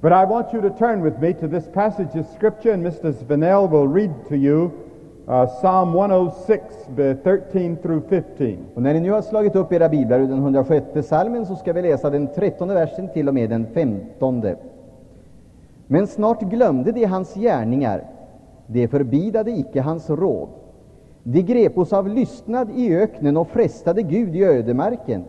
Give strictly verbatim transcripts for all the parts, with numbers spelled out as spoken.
But I want you to turn with me to this passage of Scripture, and Mister Svenell will read to you uh, Psalm one oh six, thirteen through fifteen. Och när ni nu har slagit upp era biblar ur den hundrasjätte psalmen, så ska vi läsa den trettonde versen till och med den femtonde. Men snart glömde de hans gärningar, de förbidade icke hans råd. De grepos av lystnad i öknen och frestade Gud i ödemarken.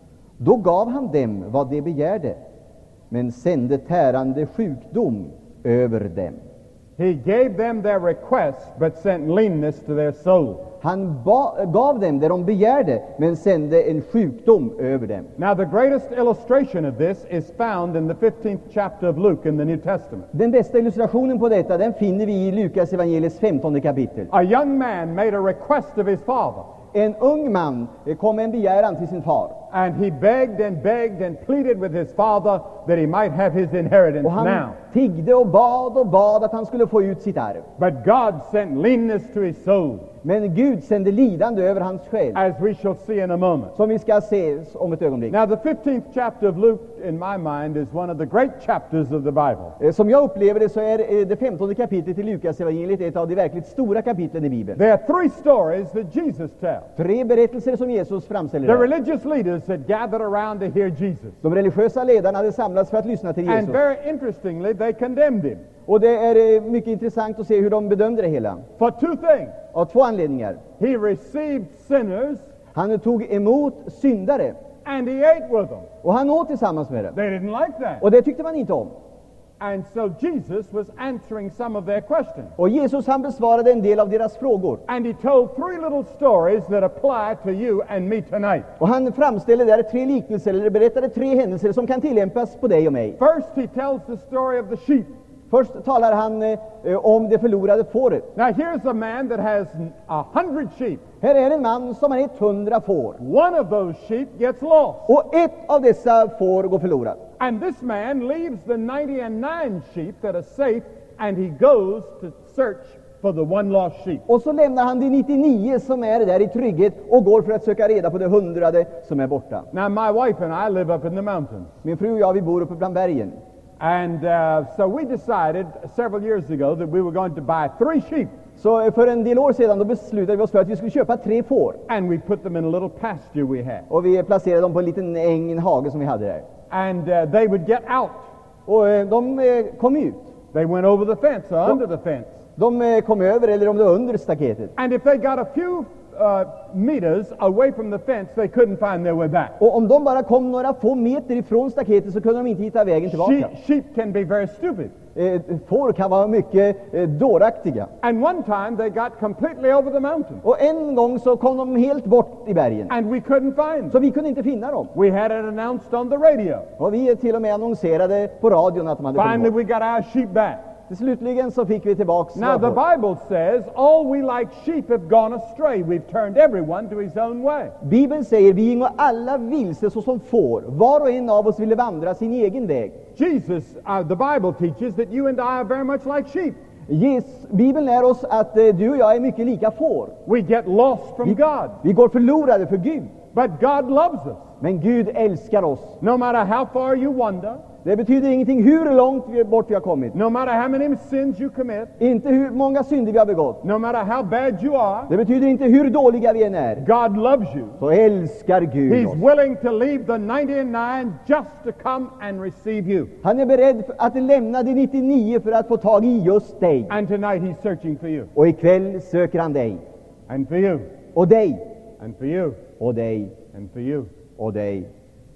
Då gav han dem vad de begärde, men sände tärande sjukdom över dem. He gave them their requests, but sent leanness to their soul. Han ba- gav dem det de begärde, men sände en sjukdom över dem. Now, the greatest illustration of this is found in the fifteenth chapter of Luke in the New Testament. Den bästa illustrationen på detta, den finner vi i Lukas evangeliets femtonde kapitel. A young man made a request of his father, En ung man kom med en begäran till sin far. and he begged and begged and pleaded with his father that he might have his inheritance Och han now. tiggde och bad och bad att han skulle få ut sitt arv. But God sent leanness to his soul, Men Gud sände lidande över hans själ, as we shall see in a moment. som vi ska se om ett ögonblick. Now, the fifteenth chapter of Luke, in my mind, is one of the great chapters of the Bible. Eh, Som jag upplever det, så är eh, det femtonde kapitlet i Lukas evangeliet ett av de verkligt stora kapitlen i Bibeln. There are three stories that Jesus tells. Tre berättelser som Jesus framställer The där. religious leaders had gathered around to hear Jesus. De religiösa ledarna hade samlats för att lyssna till And Jesus. very interestingly, they condemned him Och det är eh, mycket intressant att se hur de bedömde det hela. for two things. Av två anledningar. He received sinners Han tog emot syndare, and he ate with them. och han åt tillsammans med dem. They didn't like that. Och det tyckte man inte om. And so Jesus was answering some of their questions. Och Jesus, han besvarade en del av deras frågor. And he told three little stories that apply to you and me tonight. Och han framställde där tre liknelser, eller berättade tre händelser som kan tillämpas på dig och mig. First, he tells the story of the sheep. Först talar han eh, om det förlorade fåret. Now, here's a man that has a hundred sheep. Här är en man som har hundra får. One of those sheep gets lost. Och ett av dessa får går förlorat. And this man leaves the ninety-nine sheep that are safe, and he goes to search for the one lost sheep. Och så lämnar han de nittionio som är där i trygghet och går för att söka reda på det hundrade som är borta. Now, my wife and I live up in the mountains. Min fru och jag, vi bor uppe bland bergen. And uh, so we decided several years ago that we were going to buy three sheep, Så för en del år sedan då beslutade vi oss för att vi skulle köpa tre får. and we put them in a little pasture we had. Och vi placerade dem på en liten äng, en hage som vi hade där. And uh, they would get out. Och eh, de eh, kom ut. They went over the fence or under the fence. De eh, kom över, eller om det var under staketet. And if they got a few uh, meters away from the fence, they couldn't find their way back. Och om de bara kom några få meter ifrån staketet så kunde de inte hitta vägen tillbaka. Sheep, sheep can be very stupid. Eh, får kan vara mycket eh, dåraktiga. And one time they got completely over the mountain, Och en gång så kom de helt bort i bergen. and we couldn't find them. Så vi kunde inte finna dem. We had it announced on the radio. Och vi till och med annonserade på radion att de hade kommit Finally, bort. we got our sheep back. Slutligen så fick vi tillbaks Now, the våra får. Bible says, all we like sheep have gone astray. We've turned everyone to his own way. Bibeln säger, vi gingo alla vilse såsom får. Var och en av oss ville vandra sin egen väg. Jesus, uh, the Bible teaches that you and I are very much like sheep. Yes, Bibeln lär oss att eh, du och jag är mycket lika får. We get lost from Vi, God. vi går förlorade för Gud. But God loves us. Men Gud älskar oss. No matter how far you wander, Det betyder ingenting hur långt vi bort vi har kommit. no matter how many sins you commit, Inte hur många synder vi har begått. no matter how bad you are, Det betyder inte hur dåliga vi än är. God loves you. Så älskar Gud He's oss. willing to leave the ninety-nine just to come and receive you. Han är beredd att lämna de nittionio för att få tag i just dig. And tonight he's searching for you, Och ikväll söker han dig. and for you, Och dig. and for you, Och dig. and for you. Och dig.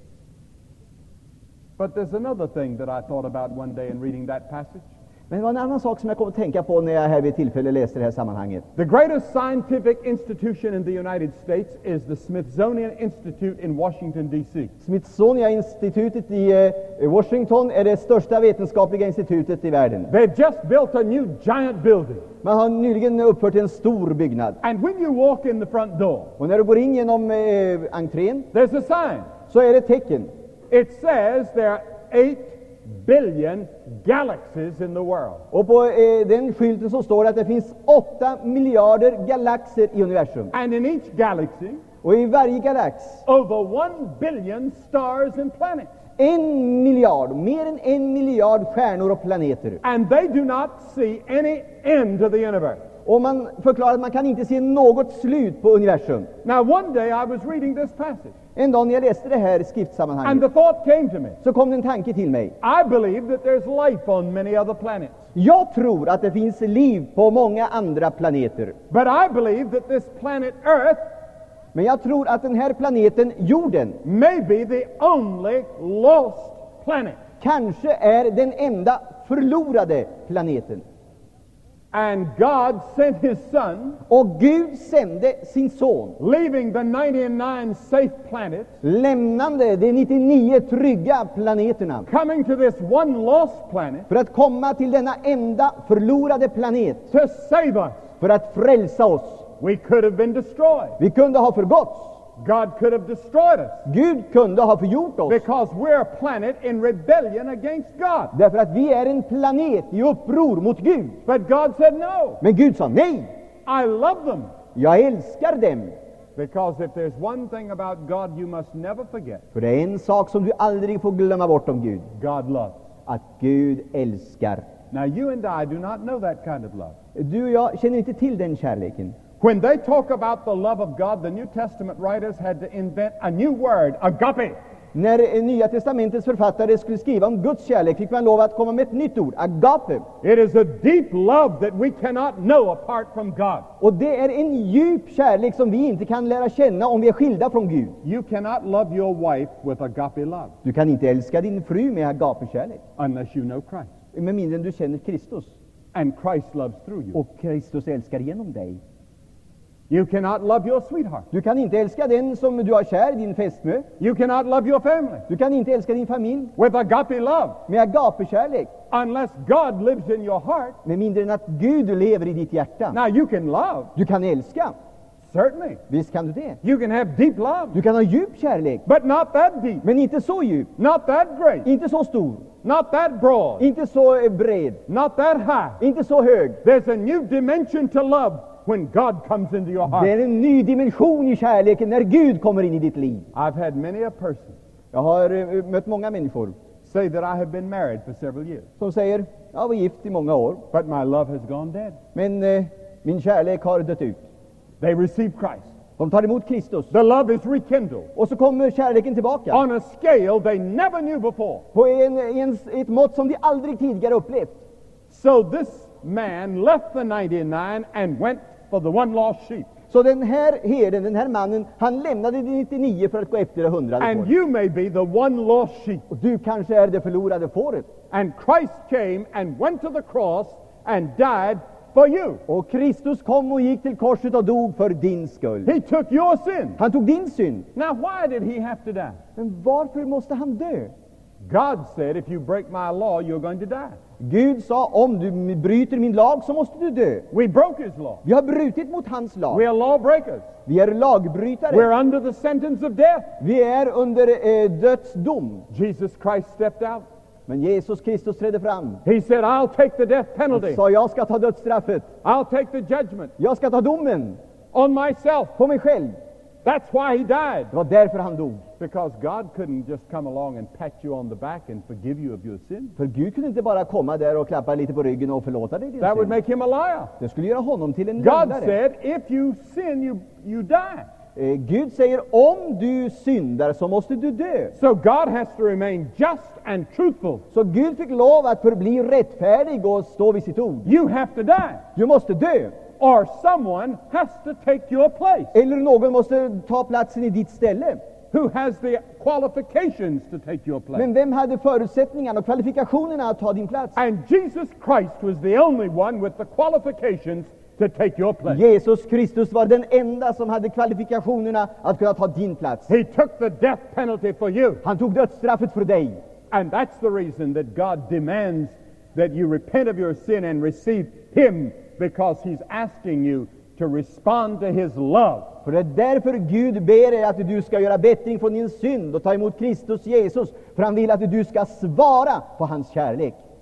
But there's another thing that I thought about one day in reading that passage. Men det var en annan sak som jag kom att tänka på när jag här vid tillfälle läste det här sammanhanget. The greatest scientific institution in the United States is the Smithsonian Institute in Washington, D C Smithsonian-institutet i eh, Washington är det största vetenskapliga institutet i världen. They've just built a new giant building. Man har nyligen uppfört en stor byggnad. And when you walk in the front door, Och när du går in genom eh, entrén there's a sign. så är det ett tecken. It says there are eight billion galaxies in the world. Och på eh, den skylten så står det att det finns åtta miljarder galaxer i universum. And in each galaxy, Och i varje galax over one billion stars and planets. en miljard, mer än en miljard stjärnor och planeter. And they do not see any end to the universe. Och man förklarar att man kan inte se något slut på universum. Now, one day I was reading this passage, En dag när jag läste det här and skriftsammanhanget the thought came to me. så kom det en tanke till mig. I believe that there's life on many other planets. Jag tror att det finns liv på många andra planeter. But I believe that this planet Earth Men jag tror att den här planeten, jorden, may be the only lost planet. kanske är den enda förlorade planeten. And God sent His Son, Och Gud sände sin son, leaving the ninety-nine safe planets, lämnande de nittionio trygga planeterna, coming to this one lost planet för att komma till denna enda förlorade planet, to save us. för att frälsa oss. We could have been destroyed. Vi kunde ha förgåtts. God could have destroyed us Gud kunde ha förgjort oss, because we're a planet in rebellion against God. därför att vi är en planet i uppror mot Gud. But God said no. Men Gud sa nej, I love them. jag älskar dem. Because if there's one thing about God you must never forget, För det är en sak som du aldrig får glömma bort om Gud, God loves. att Gud älskar. Now you and I do not know that kind of love. Du och jag känner inte till den kärleken. When they talk about the love of God, the New Testament writers had to invent a new word, agape. När Nya testamentets författare skulle skriva om Guds kärlek fick man lov att komma med ett nytt ord, agape. It is a deep love that we cannot know apart from God. Och det är en djup kärlek som vi inte kan lära känna om vi är skilda från Gud. You cannot love your wife with agape love Du kan inte älska din fru med agape-kärlek, unless you know Christ. med mindre än du känner Kristus. And Christ loves through you. Och Kristus älskar genom dig. You cannot love your sweetheart. Du kan inte älska den som du har kär, din fästmö. You cannot love your family Du kan inte älska din familj with agape love med agape-kärlek, unless God lives in your heart. med mindre än att Gud lever i ditt hjärta. Now you can love, Du kan älska, certainly. visst kan du det. You can have deep love, Du kan ha djup kärlek, but not that deep, men inte så djup, not that great, inte så stor, not that broad, inte så eh, bred, not that high. inte så hög. There's a new dimension to love when God comes into your Det heart. är en ny dimension i kärleken när Gud kommer in i ditt liv. I've had many a person Jag har eh, mött många människor say that I have been married for several years, som säger, jag var gift i många år, but my love has gone dead. men eh, min kärlek har dött ut. They receive Christ. De tar emot Kristus, The love is rekindled och så kommer kärleken tillbaka on a scale they never knew before. på en, en, ett mått som de aldrig tidigare upplevt. So this man left the ninety-nine and went for the one lost sheep. Så den här herden, den här mannen, han lämnade de nittionio för att gå efter det hundrade And fåret. you may be the one lost sheep. Och du kanske är det förlorade fåret. And Christ came and went to the cross and died for you. Och Kristus kom och gick till korset och dog för din skull. He took your sin. Han tog din synd. Now why did he have to die? Men varför måste han dö? God said, if you break my law, you're going to die. Gud sa, om du bryter min lag så måste du dö. We broke his law. Vi har brutit mot hans lag. We are lawbreakers. Vi är lagbrytare. We're under the sentence of death. Vi är under eh, dödsdom. Jesus Christ stepped out. Men Jesus Kristus trädde fram. He said, I'll take the death Han penalty. sa, jag ska ta dödsstraffet. I'll take the judgment Jag ska ta domen on myself. på mig själv. That's why he died. Det var därför han dog. Because God couldn't just come along and pat you on the back and forgive you of your sin. För Gud kunde inte bara komma där och klappa lite på ryggen och förlåta dig din That would synd. make him a liar. Det skulle göra honom till en God lögnare. said, if you sin, you, you die. Eh, Gud säger, om du syndar så måste du dö. So God has to remain just and truthful. Så Gud fick lov att förbli rättfärdig och stå vid sitt ord. You have to die. Du måste dö. Or someone has to take your place. Eller någon måste ta platsen i ditt ställe. Who has the qualifications to take your place? Men vem hade förutsättningarna och kvalifikationerna att ta din plats? And Jesus Christ was the only one with the qualifications to take your place. Jesus Kristus var den enda som hade kvalifikationerna att kunna ta din plats. He took the death penalty for you. Han tog dödsstraffet för dig. And that's the reason that God demands that you repent of your sin and receive Him, because He's asking you to respond to His love. För det är därför Gud ber dig att du ska göra bättring från din synd och ta emot Kristus Jesus. För han vill att du ska svara på hans kärlek.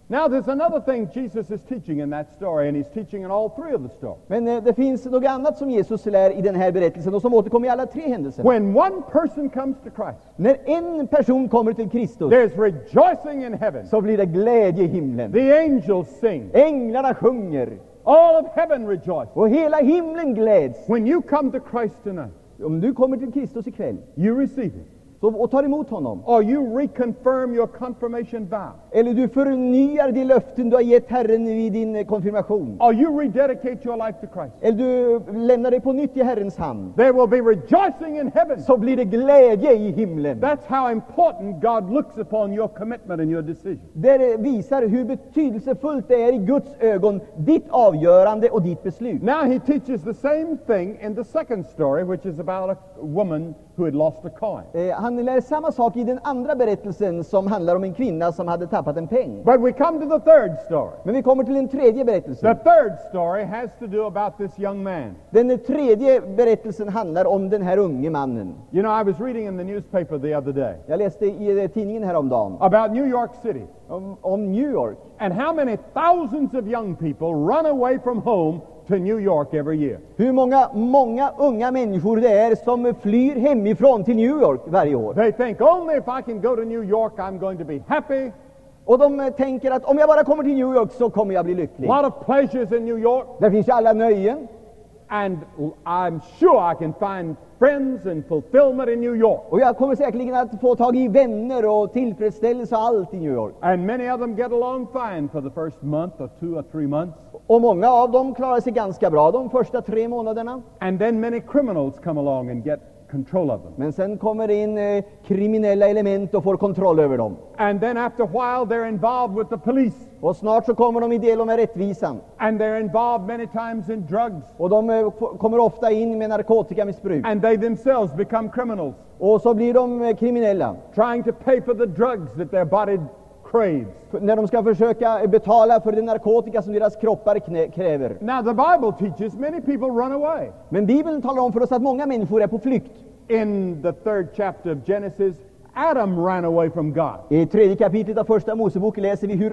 Now there's another thing Jesus is teaching in that story, and he's teaching in all three of the stories. Men eh, det finns något annat som Jesus lär i den här berättelsen och som återkommer i alla tre händelserna. When one person comes to Christ, När en person kommer till Kristus there's rejoicing in heaven. så blir det glädje i himlen. The angels sing. Änglarna sjunger All of heaven rejoices. och hela himlen gläds. When you come to Christ tonight, Om du kommer till Kristus ikväll you receive him. så, och tar emot honom, Or you reconfirm your confirmation vow. eller du förnyar de löften du har gett Herren vid din eh, konfirmation, Or you rededicate your life to Christ. eller du lämnar dig på nytt i Herrens hand, There will be rejoicing in heaven. så blir det glädje i himlen. That's how important God looks upon your commitment and your decision. Det visar hur betydelsefullt det är i Guds ögon, ditt avgörande och ditt beslut. Now he teaches the same thing in the second story, which is about a woman who had lost a coin. Eh, han lär samma sak i den andra berättelsen som handlar om en kvinna som hade tappat en peng. But we come to the third story. Men vi kommer till den tredje The berättelsen. third story has to do about this young man. Den tredje berättelsen handlar om den här unge mannen. You know, I was reading in the newspaper the other day Jag läste i eh, tidningen häromdagen about New York City om, om New York. and how many thousands of young people run away from home to New York every year. Hur många, många unga människor det är som flyr hemifrån till New York varje år. They think only if I can go to New York I'm going to be happy. Och de eh, tänker att om jag bara kommer till New York så kommer jag bli A lycklig. lot of pleasures in New York, Där finns ju alla nöjen. and I'm sure I can find friends and fulfillment in New York. Och jag kommer säkerligen att få tag i vänner och tillfredsställelse och allt i New York. And many of them get along fine for the first month or two or three months. Och många av dem klarar sig ganska bra de första tre månaderna. And then many criminals come along and get control of them. Men sen kommer det in eh, kriminella element och får kontroll över dem. And then after a while they're involved with the police. Och snart så kommer de i del med rättvisan. And they're involved many times in drugs. Och de eh, f- kommer ofta in med narkotikamissbruk. And they themselves become criminals, Och så blir de eh, kriminella. trying to pay for the drugs that their body craves. F- När de ska försöka eh, betala för den narkotika som deras kroppar knä- kräver. Now the Bible teaches many people run away. Men Bibeln talar om för oss att många människor är på flykt. In the third chapter of Genesis, Adam ran away from God. I tredje kapitlet av första Mosebok läser vi hur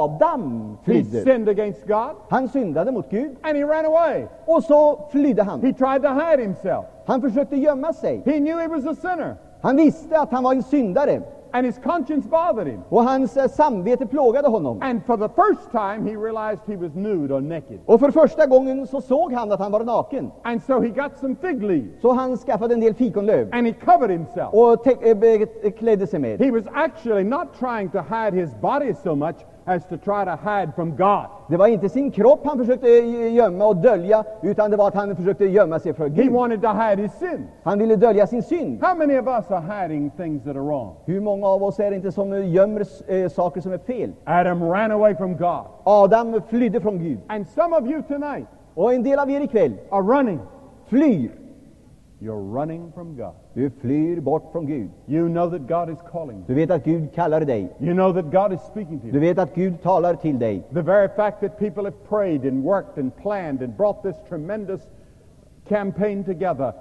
Adam He flydde. sinned against God Han syndade mot Gud and he ran away. och så flydde han. He tried to hide himself. Han försökte gömma sig. He knew he was a sinner Han visste att han var en syndare and his conscience bothered him. och hans eh, samvete plågade honom. And for the first time he realized he was nude or naked. Och för första gången så såg han att han var naken. And so he got some fig leaves Så han skaffade en del fikonlöv and he covered himself. och te- eh, be- klädde sig med. He was actually not trying to hide his body so much as to try to hide from God. Det var inte sin kropp han försökte eh, gömma och dölja, utan det var att han försökte gömma sig för He Gud. wanted to hide his sin. Han ville dölja sin synd. How many of us are hiding things that are wrong? Hur många av oss är det inte som eh, gömmer eh, saker som är fel? Adam ran away from God. Adam flydde från Gud. And some of you tonight Och en del av er ikväll are running. flyr. You're running from God. Du flyr bort från Gud. You know that God is calling you. Du vet att Gud kallar dig. You know that God is speaking to Du you. vet att Gud talar till dig. The very fact that people have prayed and worked and planned and brought this tremendous campaign together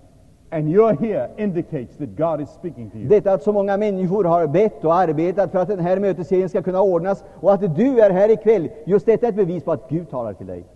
and you're here indicates that God is speaking to you. Detta att så många människor har bett och arbetat för att den här mötesserien ska kunna ordnas och att du är här ikväll, just detta är ett bevis på att Gud talar till dig.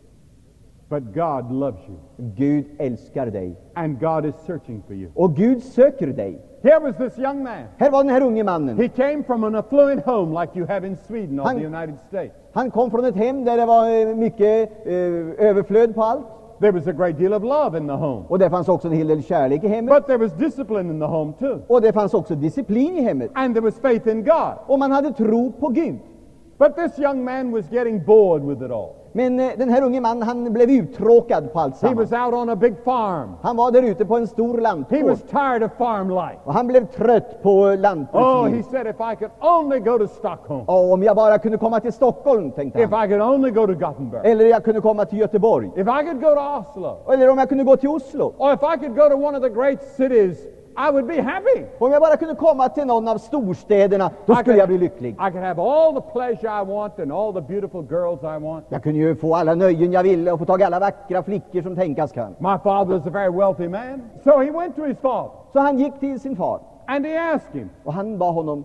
But God loves you Gud älskar dig. and God is searching for you. Och Gud söker dig. Here was this young man. Här var den här unge mannen. He came from an affluent home like you have in Sweden or Han- the United States. Han kom från ett hem där det var eh, mycket eh, överflöd på allt. There was a great deal of love in the home. Och det fanns också en hel del kärlek i hemmet. But there was discipline in the home too. Och det fanns också disciplin i hemmet. And there was faith in God. Och man hade tro på Gud. But this young man was getting bored with it all. Men eh, den här unge mannen, han blev uttråkad på allt He was sammans. out on a big farm. Han var där ute på en stor He lantgård. was tired of farm life. Och han blev trött på Oh, he lantbrukslivet. said, if I could only go to Stockholm, Och om jag bara kunde komma till Stockholm, tänkte if han. I could only go to Gothenburg, Eller jag kunde komma till Göteborg. if I could go to Oslo, Eller om jag kunde gå till Oslo. or if I could go to one of the great cities, I would be happy. Om jag bara kunde komma till någon av storstäderna, då I skulle could, jag bli lycklig. I could have all the pleasure I want and all the beautiful girls I want. Jag kunde ju få alla nöjen jag ville och få tag i alla vackra flickor som tänkas kan. My father was a very wealthy man. So he went to his father Så han gick till sin far and he asked him, och han bad honom,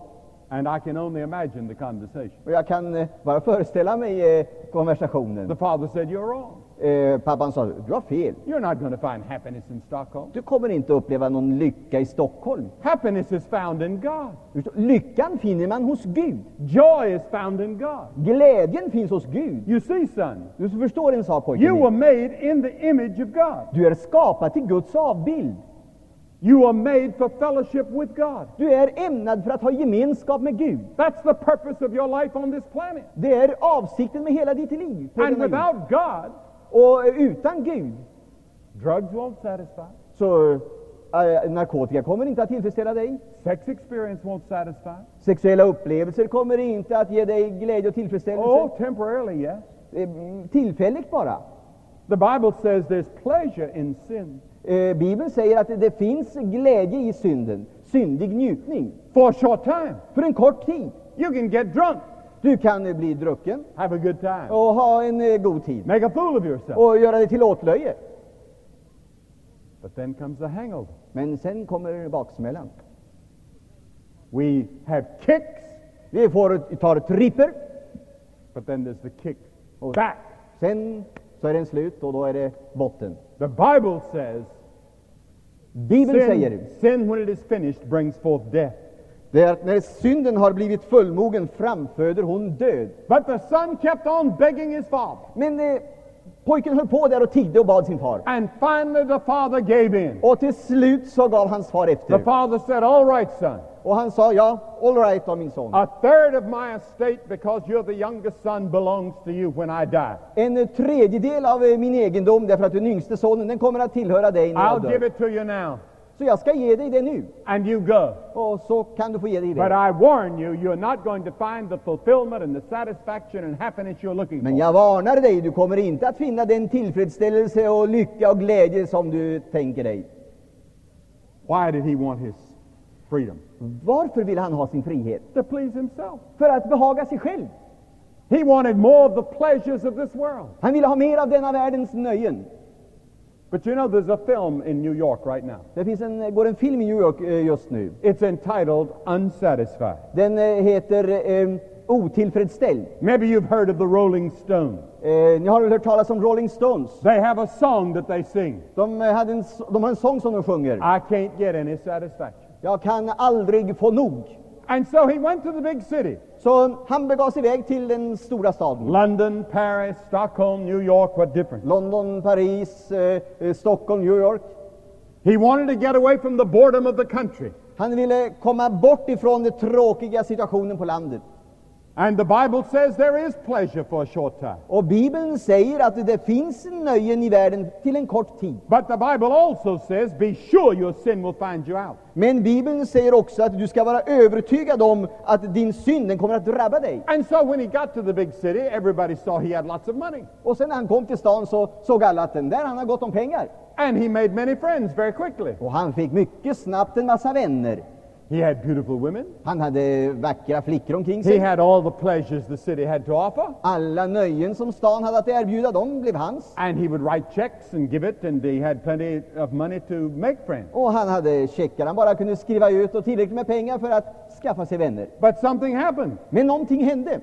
And I can only imagine the conversation. Och jag kan eh, bara föreställa mig eh, konversationen. The father said, "You're wrong. Eh, pappan sa, du har fel. You're not going to find happiness in Stockholm. Du kommer inte uppleva någon lycka i Stockholm. Happiness is found in God. Lyckan finner man hos Gud. Joy is found in God. Glädjen finns hos Gud. You see, son, Du förstår en sak, pojken you were min. made in the image of God. Du är skapad till Guds avbild. You are made for fellowship with God. Du är ämnad för att ha gemenskap med Gud. That's the purpose of your life on this planet. Det är avsikten med hela ditt liv. på And denna jord. without God, Och utan Gud drugs won't satisfy. så äh, narkotika kommer inte att tillfredsställa dig. Sex experience won't satisfy. Sexuella upplevelser kommer inte att ge dig glädje och tillfredsställelse. Oh, temporarily, yes. Eh, Tillfälligt bara. The Bible says there's pleasure in sin. Eh, Bibeln säger att det, det finns glädje i synden, syndig njutning. For a short time. För en kort tid. You can get drunk, Du kan eh, bli drucken have a good time, och ha en eh, god tid make a fool of yourself. och göra det till åtlöje. But then comes the hangover. Men sen kommer baksmällan. We have kicks, Vi får, tar tripper, but then there's the kick och back. sen så är den slut och då är det botten. The Bible says Bibeln säger sin, sin when it is finished brings forth death. det är att när synden har blivit fullmogen framföder hon död. But the son kept on begging his father. Men eh, pojken höll på där och tiggde och bad sin far. And finally the father gave in. Och till slut så gav hans far The efter. father said, "All right, son. Och han sa, ja, all right då min son. A third of my estate, because you're the youngest son, belongs to you when I die. En tredjedel av eh, min egendom, därför att du är den yngste sonen, den kommer att tillhöra dig när jag I'll give dör. it to you now, Så jag ska ge dig det nu. and you go. Och så kan du få ge dig But det. I warn you, you're not going to find the fulfillment and the satisfaction and happiness you're looking Men for. jag varnar dig, du kommer inte att finna den tillfredsställelse och lycka och glädje som du tänker dig. Why did he want his freedom? Varför vill han ha sin frihet? To please himself. För att behaga sig själv. He wanted more of the pleasures of this world. Han ville ha mer av denna världens nöjen. But you know, there's a film in New York right now. Det finns en, går en film i New York eh, just nu. It's entitled Unsatisfied. Den eh, heter eh, Otillfredsställd. Maybe you've heard of the Rolling Stones. Eh, ni har väl hört talas om Rolling Stones? They have a song that they sing. De, eh, hade en, s- de har en sång som de sjunger. I can't get any satisfaction. Jag kan aldrig få nog. And so he went to the big city. Så han begav sig iväg till den stora staden. London, Paris, Stockholm, New York, what difference? London, Paris, eh, eh, Stockholm, New York. He wanted to get away from the boredom of the country. Han ville komma bort ifrån den tråkiga situationen på landet. And the Bible says there is pleasure for a short time. Och Bibeln säger att det finns nöjen i världen till en kort tid. But the Bible also says, be sure your sin will find you out. Men Bibeln säger också att du ska vara övertygad om att din synd den kommer att drabba dig. And so when he got to the big city, everybody saw he had lots of money. Och sen när han kom till stan så såg alla att den där han har gott om pengar. And he made many friends very quickly. Och han fick mycket snabbt en massa vänner. He had beautiful women. Han hade vackra flickor omkring He sig. had all the pleasures the city had to offer. Alla nöjen som stan hade att erbjuda, de blev hans. And he would write checks and give it, and he had plenty of money to make friends. Och han hade checkar han bara kunde skriva ut och tillräckligt med pengar för att skaffa sig vänner. But something happened. Men någonting hände.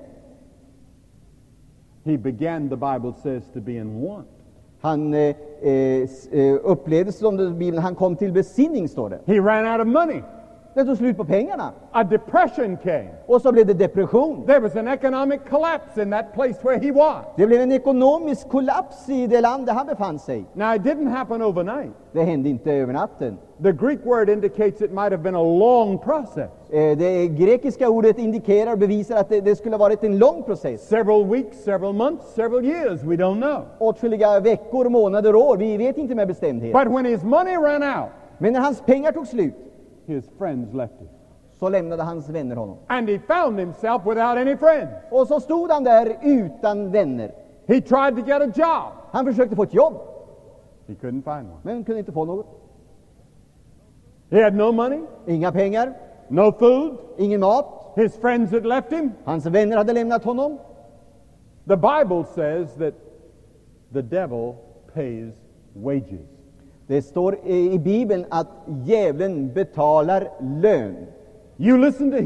He began, the Bible says, to be in want. Han eh, eh, upplevde som det Bibeln, han kom till besinning, står det. He ran out of money. Det tog slut på pengarna. A depression came. Och så blev det depression. There was an economic collapse in that place where he was. Det blev en ekonomisk kollaps i det land där han befann sig. Now, it didn't happen overnight. Det hände inte över natten. The Greek word indicates it might have been a long process. Eh, det grekiska ordet indikerar och bevisar att det, det skulle ha varit en lång process. Several weeks, several months, several years, we don't know. Åtskilliga veckor, månader, år. Vi vet inte med bestämdhet. But when his money ran out, Men när hans pengar tog slut his friends left him. så lämnade hans vänner honom. And he found himself without any friends. Och så stod han där utan vänner. He tried to get a job. Han försökte få ett jobb, He couldn't find one. men kunde inte få något. He had no money, Inga pengar, no food. ingen mat. His friends had left him. Hans vänner hade lämnat honom. The Bible says that the devil pays wages. Det står i Bibeln att djävulen betalar lön. You listen to him,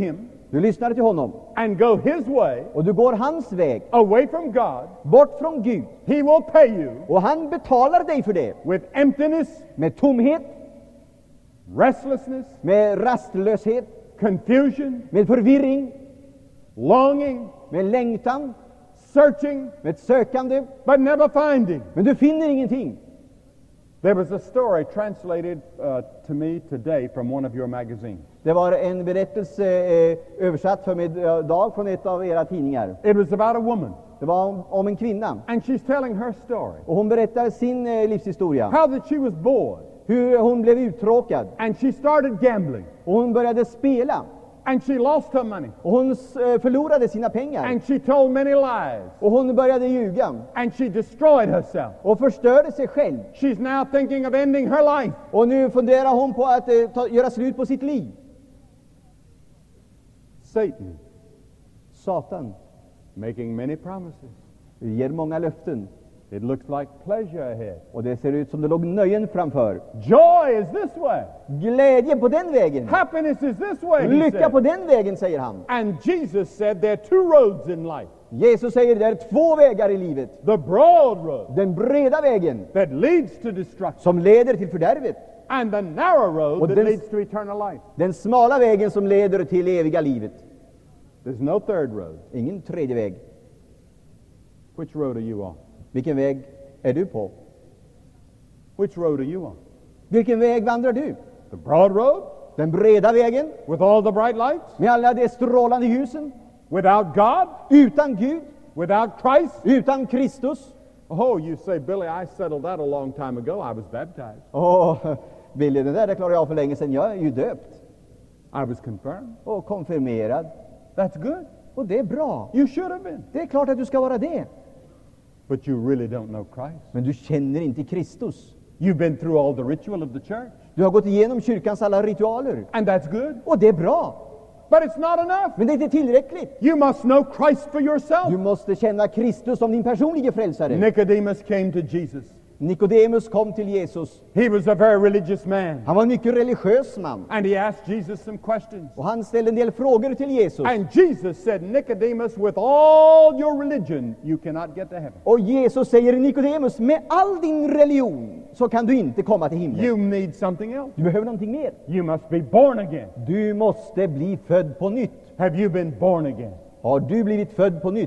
Du lyssnar till honom and go his way, och du går hans väg, away from God, bort från Gud, he will pay you och han betalar dig för det with emptiness, med tomhet, restlessness, med rastlöshet, confusion, med förvirring, longing, med längtan, searching, med sökande, but never finding. men du finner ingenting. There was a story translated uh, to me today from one of your magazines. Det var en berättelse eh, översatt för mig idag från ett av era tidningar. It was about a woman, Det var om, om en kvinna, and she's telling her story. och hon berättar sin eh, livshistoria. How that she was bored, Hur hon blev uttråkad, and she started gambling, och hon började spela, and she lost her money, och hon eh, förlorade sina pengar, and she told many lies, och hon började ljuga, and she destroyed herself. och förstörde sig själv. She's now thinking of ending her life. Och nu funderar hon på att eh, ta, göra slut på sitt liv. Satan, Satan making many promises. ger många löften, It looks like pleasure ahead. och det ser ut som det låg nöjen framför. Joy is this way. Glädje på den vägen, Happiness is this way, he lycka said. på den vägen, säger han. And Jesus said there are two roads in life. Jesus säger det är två vägar i livet. The broad road Den breda vägen that leads to destruction, som leder till fördärvet, and the narrow road Och that den- leads to eternal life. den smala vägen som leder till eviga livet. There's no third road. Ingen tredje väg. Which road are you on? Vilken väg är du på? Which road are you on? Vilken väg vandrar du? The broad road Den breda vägen with all the bright lights? med alla de strålande ljusen, Without God? utan Gud, Without Christ? utan Kristus. Oh, you say, Billy, I settled that a long time ago. I was baptized. Åh, Billy, det där det klarade jag för länge sedan. Jag är ju döpt I was confirmed. och konfirmerad. That's good. Och det är bra. You should have been. Det är klart att du ska vara det. But you really don't know Christ. Men du känner inte Kristus. You've been through all the ritual of the church. Du har gått igenom kyrkans alla ritualer. And that's good. Och det är bra. But it's not enough. Men det är inte tillräckligt. You must know Christ for Du yourself. måste känna Kristus som din personliga frälsare. Nicodemus came to Jesus. Nikodemus kom till Jesus. He was a very religious man. Han var en mycket religiös man. And he asked Jesus some questions. Och han ställde en del frågor till Jesus. And Jesus said, Nicodemus, with all your religion, you cannot get to heaven. Och Jesus säger, Nikodemus, med all din religion så kan du inte komma till himlen. You need something else. Du behöver någonting mer. You must be born again. Du måste bli född på nytt. Have you been born again? Har du blivit född på nytt?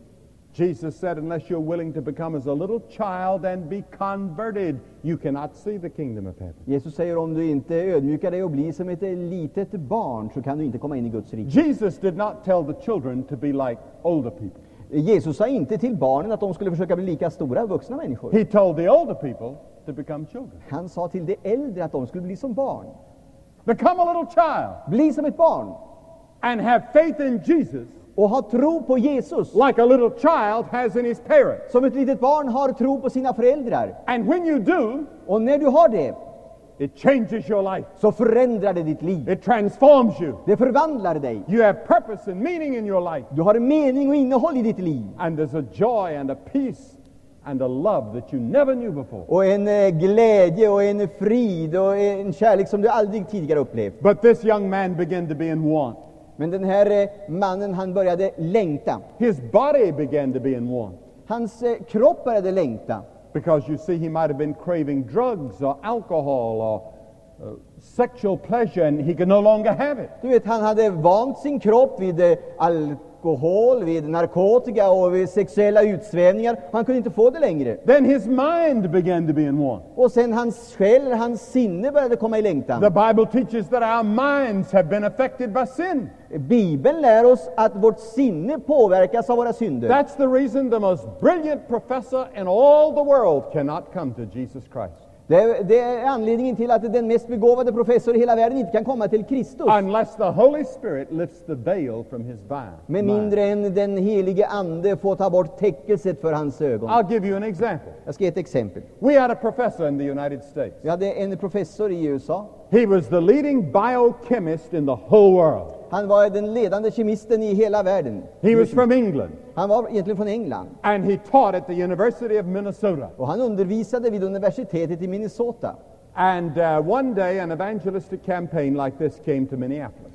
Jesus said, unless you're willing to become as a little child and be converted, you cannot see the kingdom of heaven. Jesus säger, om du inte ödmjukar dig och blir som ett litet barn så kan du inte komma in i Guds rike. Jesus did not tell the children to be like older people. Jesus sa inte till barnen att de skulle försöka bli lika stora vuxna människor. He told the older people to become children. Han sa till de äldre att de skulle bli som barn. Become a little child Bli som ett barn and have faith in Jesus och ha tro på Jesus like a little child has in his parents. som ett litet barn har tro på sina föräldrar. And when you do, Och när du har det it changes your life. så förändrar det ditt liv. It transforms you. Det förvandlar dig. You have purpose and meaning in your life. Du har mening och innehåll i ditt liv. And there's a joy and a peace and a love that you never knew before. Och en eh, glädje och en frid och en kärlek som du aldrig tidigare upplevt. But this young man began to be in want. Men den här eh, mannen, han började längta. His body began to be in want. Hans eh, kropp började längta. Because you see, he might have been craving drugs or alcohol or uh, sexual pleasure, and he could no longer have it. Du vet, han hade vant sin kropp vid eh, alkohol, vid narkotika och vid sexuella utsvävningar. Han kunde inte få det längre. Then his mind began to be in want. Och sen hans själ, hans sinne började komma i längtan. The Bible teaches that our minds have been affected by sin. Bibeln lär oss att vårt sinne påverkas av våra synder. That's the reason the most brilliant professor in all the world cannot come to Jesus Christ. Det är, det är anledningen till att den mest begåvade professor i hela världen inte kan komma till Kristus. Unless the Holy Spirit lifts the veil from his Med mind. mindre än den helige ande får ta bort täckelset för hans ögon. I'll give you an example. Jag ska ge ett exempel. We had a professor in the United States. Vi hade en professor i U S A. He was the leading biochemist in the whole world. Han var den ledande kemisten i hela världen. He was from England, Han var egentligen från England. and he taught at the University of Minnesota. Och han undervisade vid universitetet i Minnesota. And uh, one day an evangelistic campaign like this came to Minneapolis.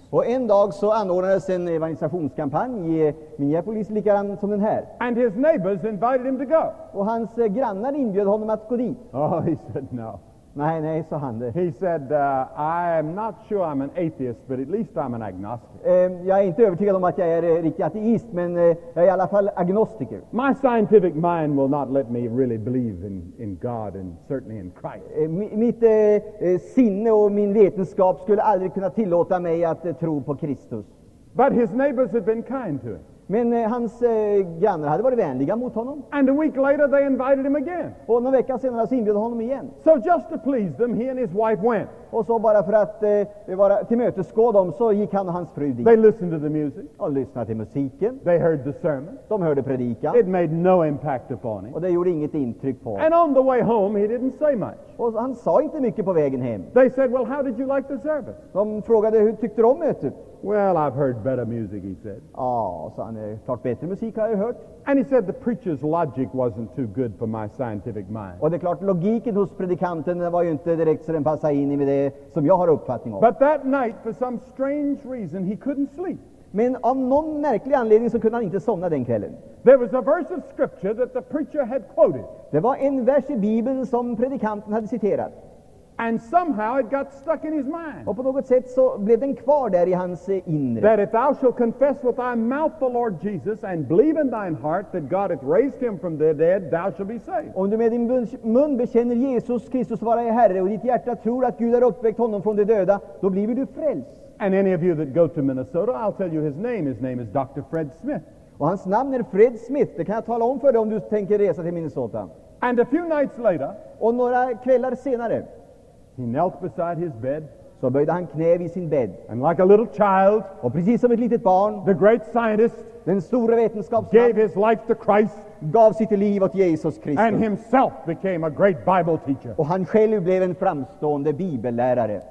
Och en dag så anordnades en evangelisationskampanj i Minneapolis, likadan som den här. And his neighbors invited him to go. Och hans eh, grannar inbjöd honom att gå dit. Oh, he said no. Nej, nej, sa han det. He said, uh, I am not sure I'm an atheist, but at least I'm an agnostic. Eh, jag är inte övertygad om att jag är eh, riktig ateist, men eh, jag är i alla fall agnostiker. My scientific mind will not let me really believe in, in God and certainly in Christ. Eh, mi- mitt eh, eh, sinne och min vetenskap skulle aldrig kunna tillåta mig att eh, tro på Kristus. But his neighbors had been kind to him. Men eh, hans eh, grannar hade varit vänliga mot honom. And a week later, they invited him again. Och några veckor senare så inbjöd honom igen. So just to please them, he and his wife went. Och så bara för att eh, vara tillmötesgå dem så gick han och hans fru dit. They listened to the music. Och lyssnade till musiken. They heard the sermon. De hörde predikan. It made no impact upon him. Och det gjorde inget intryck på honom. And on the way home, he didn't say much. Och han sa inte mycket på vägen hem. They said, well, how did you like the service? De frågade hur tyckte du om mötet? Well, I've heard better music, he said. Ja, sa han, eh, klart bättre musik har jag hört. And he said the preacher's logic wasn't too good for my scientific mind. Och det är klart, logiken hos predikanten den var ju inte direkt så den passade in i med det som jag har uppfattning om. But that night, for some strange reason, he couldn't sleep. Men av någon märklig anledning så kunde han inte somna den kvällen. There was a verse of scripture that the preacher had quoted, Det var en vers i Bibeln som predikanten hade citerat. and somehow it got stuck in his mind. Och på något sätt så blev den kvar där i hans eh, inre. That if thou shalt confess with thy mouth the Lord Jesus and believe in thine heart that God hath raised him from the dead, thou shalt be saved. Om du med din mun- mun bekänner Jesus Kristus vara i Herre och ditt hjärta tror att Gud har uppväckt honom från de döda, då blir du frälst. And any of you that go to Minnesota, I'll tell you his name. His name is Doctor Fred Smith. Och hans namn är Fred Smith, det kan jag tala om för dig om du tänker resa till Minnesota. And a few nights later, Och några kvällar senare he knelt beside his bed, så böjde han knä vid sin bädd. and like a little child, Och precis som ett litet barn, the great scientist den stora gave vetenskapsmannen, his life to Christ gav sitt liv åt Jesus and Kristus. himself became a great Bible teacher. Och han själv blev en framstående bibellärare.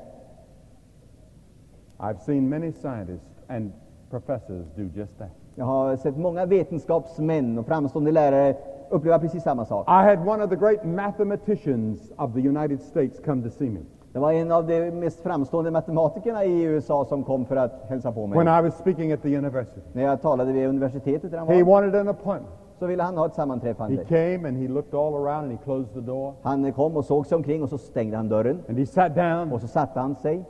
I've seen many scientists and professors do just that. Jag har sett många vetenskapsmän och framstående lärare uppleva precis samma sak. I had one of the great mathematicians of the United States come to see me Det var en av de mest framstående matematikerna i U S A som kom för att hälsa på when mig. I was speaking at the university. När jag talade vid universitetet där han He var, wanted an appointment. så ville han ha ett He sammanträffande. came and he looked all around and he closed the door Han kom och såg sig omkring och så stängde han dörren. and he sat down. Och så satte han sig.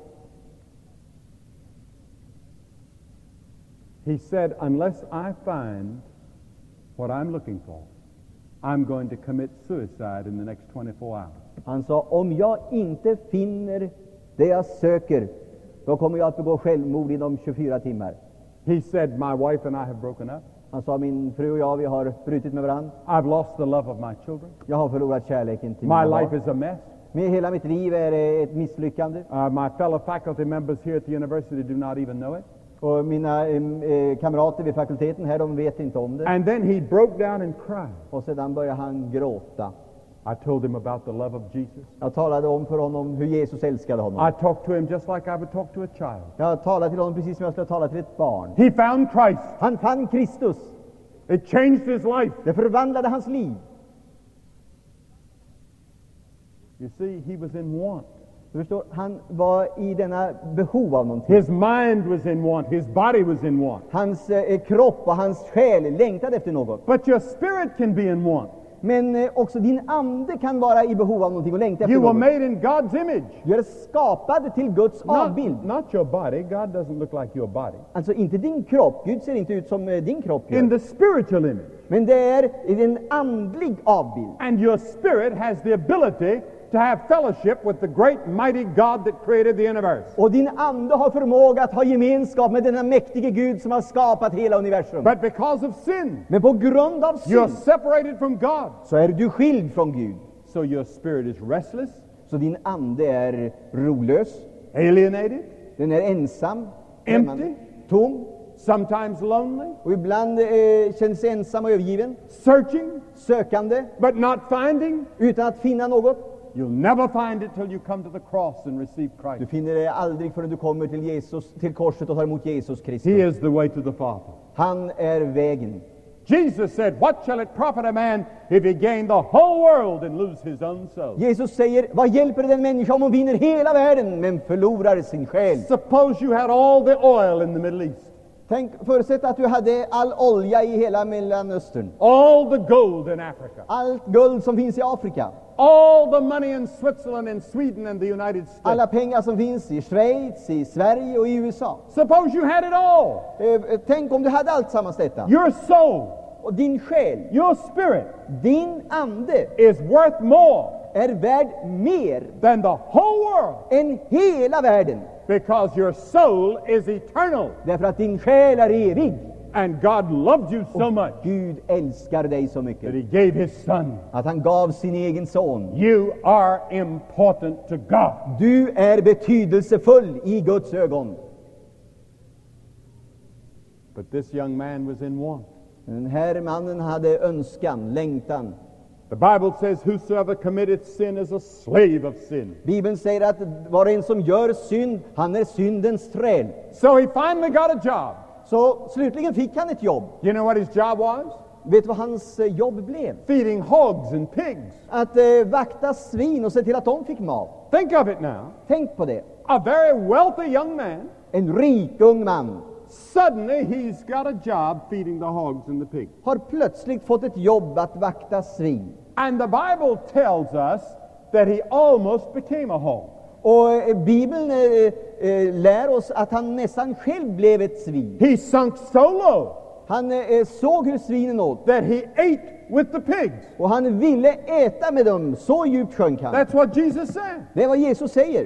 He said, unless I find what I'm looking for, I'm going to commit suicide in the next twenty-four hours. Han sa, om jag inte finner det jag söker, då kommer jag att begå självmord inom tjugofyra timmar. He said, my wife and I have broken up. Han sa, min fru och jag, vi har brutit med varandra. I've lost the love of my children. Jag har förlorat kärleken till My mina life barn. is a mess. Med hela mitt liv är det ett misslyckande. Uh, my fellow faculty members here at the university do not even know it. Och mina eh, kamrater vid fakulteten här, de vet inte om det. And then he broke down and cried. Och sedan började han gråta. I told him about the love of Jesus. Jag talade om för honom hur Jesus älskade honom. I talked to him just like I would talk to a child. Jag talade till honom precis som jag skulle tala till ett barn. He found Christ. Han fann Kristus. It changed his life. Det förvandlade hans liv. You see, he was in want. Du förstår, han var i denna behov av någonting. His mind was in want. His body was in want. Hans eh, kropp och hans själ längtade efter något. But your spirit can be in want. Men eh, också din ande kan vara i behov av någonting och längta efter You were något. made in God's image. Du är skapad till Guds Not, avbild. not your body. God doesn't look like your body. Alltså inte din kropp. Gud ser inte ut som eh, din kropp In gör. the spiritual image. Men det är en andlig avbild. And your spirit has the ability to have fellowship with the great mighty God that created the universe. Och din ande har förmåga att ha gemenskap med denna mäktige Gud som har skapat hela universum. But because of sin, Men på grund av you're synd separated from God. så är du skild från Gud. So your spirit is restless, Så din ande är rolös. alienated, Den är ensam, Empty. främmande, tom. sometimes lonely, Och ibland eh, känns ensam och övergiven. searching, Sökande, but not finding. utan att finna något. You'll never find it till you come to the cross and receive Du Christ. finner det aldrig förrän du kommer till Jesus, till korset och tar emot Jesus He Kristus. is the way to the Father. Han är vägen. Jesus said, what shall it profit a man if he gain the whole world and lose his own soul? Jesus säger, vad hjälper det den människa om hon vinner hela världen men förlorar sin själ? Suppose you had all the oil in the Middle East. Tänk, förutsätt att du hade all olja i hela Mellanöstern. All the gold in Africa. Allt guld som finns i Afrika. All the money in Switzerland and Sweden and the United States. Alla pengar som finns i Schweiz, i Sverige och i U S A. Suppose you had it all. Eh, tänk om du hade allt sammans detta. Your soul, Och din själ, your spirit, din ande is worth more är värd mer than the whole world, än hela världen. because your soul is eternal. Därför att din själ är evig. And God loved you so much Gud älskar dig så that mycket he gave his son. att han gav sin egen son. You are important to God. Du är betydelsefull i Guds ögon. But this young man was in want. Den här mannen hade önskan, längtan. The Bible says, whosoever committeth sin is a slave of sin. Bibeln säger att var och en som gör synd, han är syndens träl. So he finally got a job. Så slutligen fick han ett jobb. You know what his job was? Vet du vad hans eh, jobb blev? Feeding hogs and pigs. Att eh, vakta svin och se till att de fick mat. Think of it now. Tänk på det. A very wealthy young man, En rik ung man suddenly he's got a job feeding the hogs and the pigs. har plötsligt fått ett jobb att vakta svin. And the Bible tells us that he almost became a hog. Och eh, Bibeln eh, eh, lär oss att han nästan själv blev ett svin. He sunk so low Han eh, såg hur svinen åt. that he ate with the pigs. Och han ville äta med dem. Så djupt sjönk han. That's what Jesus said. Det är vad Jesus säger.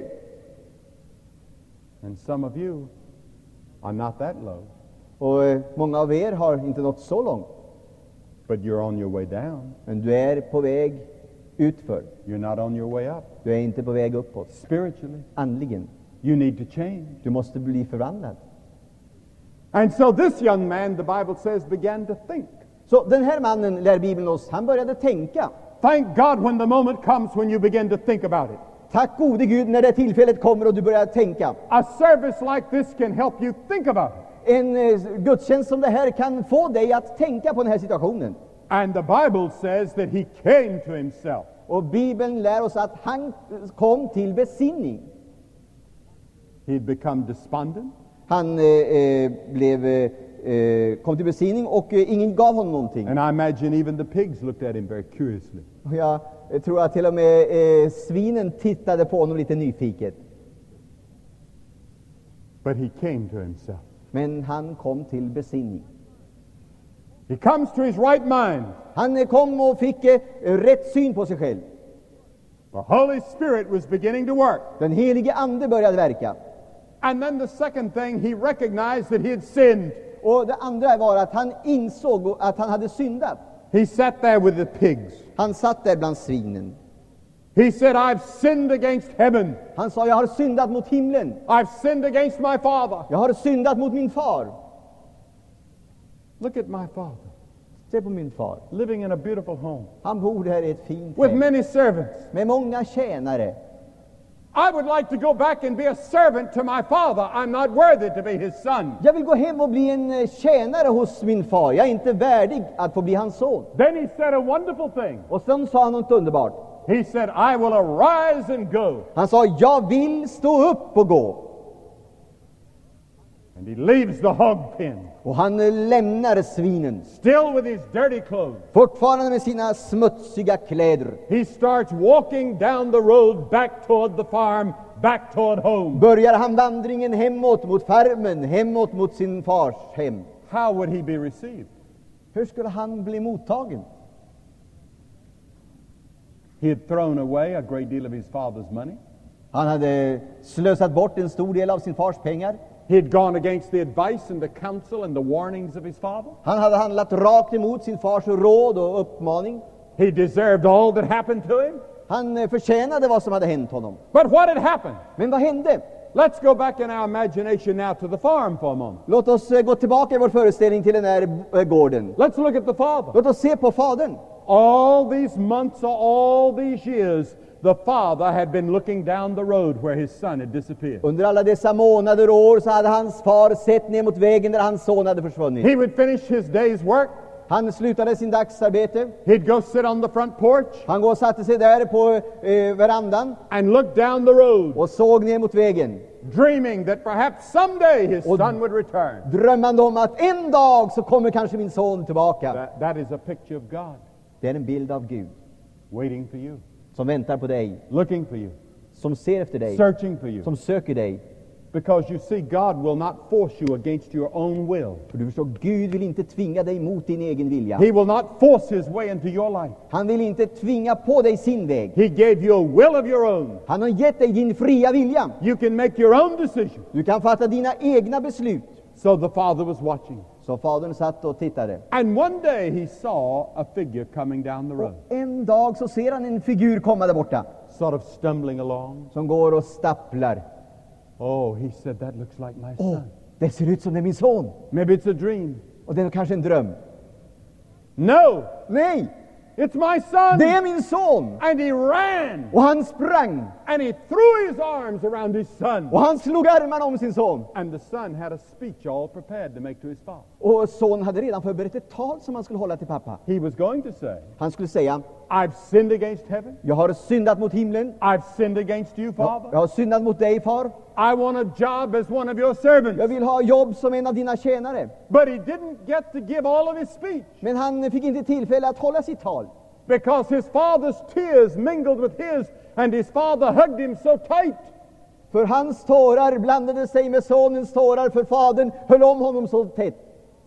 And some of you are not that low, Och eh, många av er har inte nått så långt. but you're on your way down. Men du är på väg utför. You're not on your way up. Du är inte på väg uppåt. Spiritually, Andligen. you need to change. Du måste bli förvandlad. And so this young man, the Bible says, began to think. Så den här mannen, lär Bibeln oss, han började tänka. Thank God when the moment comes when you begin to think about it. Tack gode Gud när det tillfället kommer och du börjar tänka. A service like this can help you think about it. En eh, gudstjänst som det här kan få dig att tänka på den här situationen. And the Bible says that he came to himself. Och Bibeln lär oss att han kom till besinning. He'd become despondent. Han eh, eh, blev, eh, kom till besinning och eh, ingen gav honom någonting. And I imagine even the pigs looked at him very curiously. Och jag eh, tror att till och med eh, svinen tittade på honom lite nyfiket. But he came to himself. Men han kom till besinning. He comes to his right mind. Han eh, kom och fick eh, rätt syn på sig själv. The Holy Spirit was beginning to work. Den helige ande började verka. And then the second thing, he recognized that he had sinned. Och det andra var att han insåg att han hade syndat. He sat there with the pigs. Han satt där bland svinen. He said, I've sinned against heaven. Han sa, jag har syndat mot himlen. I've sinned against my father. Jag har syndat mot min far. Look at my father, Se på min far. living in a beautiful home Han bor här i ett fint with hem many servants. med många tjänare. I would like to go back and be a servant to my father. I'm not worthy to be his son. Jag vill gå hem och bli en eh, tjänare hos min far. Jag är inte värdig att få bli hans son. Then he said a wonderful thing. Och sen sa han något underbart. He said, I will arise and go. Han sa, jag vill stå upp och gå. And he leaves the hog pen, Och han eh, lämnar svinen. still with his dirty clothes. Fortfarande med sina smutsiga kläder. He starts walking down the road back toward the farm, back toward home. Börjar han vandringen hemåt mot farmen, hemåt mot sin fars hem. How would he be received? Hur skulle han bli mottagen? He had thrown away a great deal of his father's money. Han hade slösat bort en stor del av sin fars pengar. He had gone against the advice and the counsel and the warnings of his father. Han hade handlat rakt emot sin fars råd och uppmaning. He deserved all that happened to him. Han eh, förtjänade vad som hade hänt honom. But what had happened? Men vad hände? Let's go back in our imagination now to the farm for a moment. Låt oss eh, gå tillbaka i vår föreställning till den här eh, gården. Let's look at the father. Låt oss se på fadern. All these months or all these years, the father had been looking down the road where his son had disappeared. Under alla dessa månader och år så hade hans far sett ner mot vägen där hans son hade försvunnit. He would finish his day's work. Han slutade sin dagsarbete. He'd go sit on the front porch Han går och satte sig där på eh, verandan and look down the road, och såg ner mot vägen, dreaming that perhaps someday his Och- son would return. drömmande om att en dag så kommer kanske min son tillbaka. That, that is a picture of God Det är en bild av Gud waiting for you, som väntar på dig, looking for you, som ser efter dig, searching for you. som söker dig. Because you see, God will not force you against your own will. För du förstår, Gud vill inte tvinga dig mot din egen vilja. He will not force his way into your life. Han vill inte tvinga på dig sin väg. He gave you a will of your own. Han har gett dig din fria vilja. You can make your own decision. Du kan fatta dina egna beslut. So the father was watching. Så fadern satt och tittade. And one day he saw a figure coming down the road, Och en dag så ser han en figur komma där borta, sort of stumbling along. som går och stapplar. Oh, he said, that looks like my Åh, son. det ser ut som det är min son. Maybe it's a dream. Och det är kanske en dröm. No, Nej, it's my son. det är min son. And he ran Och han sprang. and he threw his arms around his son. Och han slog armarna om sin son. And the son had a speech all prepared to make to his father. Och sonen hade redan förberett ett tal som han skulle hålla till pappa. He was going to say, Han skulle säga: I've sinned against heaven. jag har syndat mot himlen. I've sinned against you, Jag, Father. jag har syndat mot dig, far. I want a job as one of your Jag servants. vill ha jobb som en av dina tjänare. But he didn't get to give all of his speech Men han fick inte tillfälle att hålla sitt tal. because his father's tears mingled with his, and his father hugged him so tight. För hans tårar blandade sig med sonens tårar, för fadern höll om honom så tätt.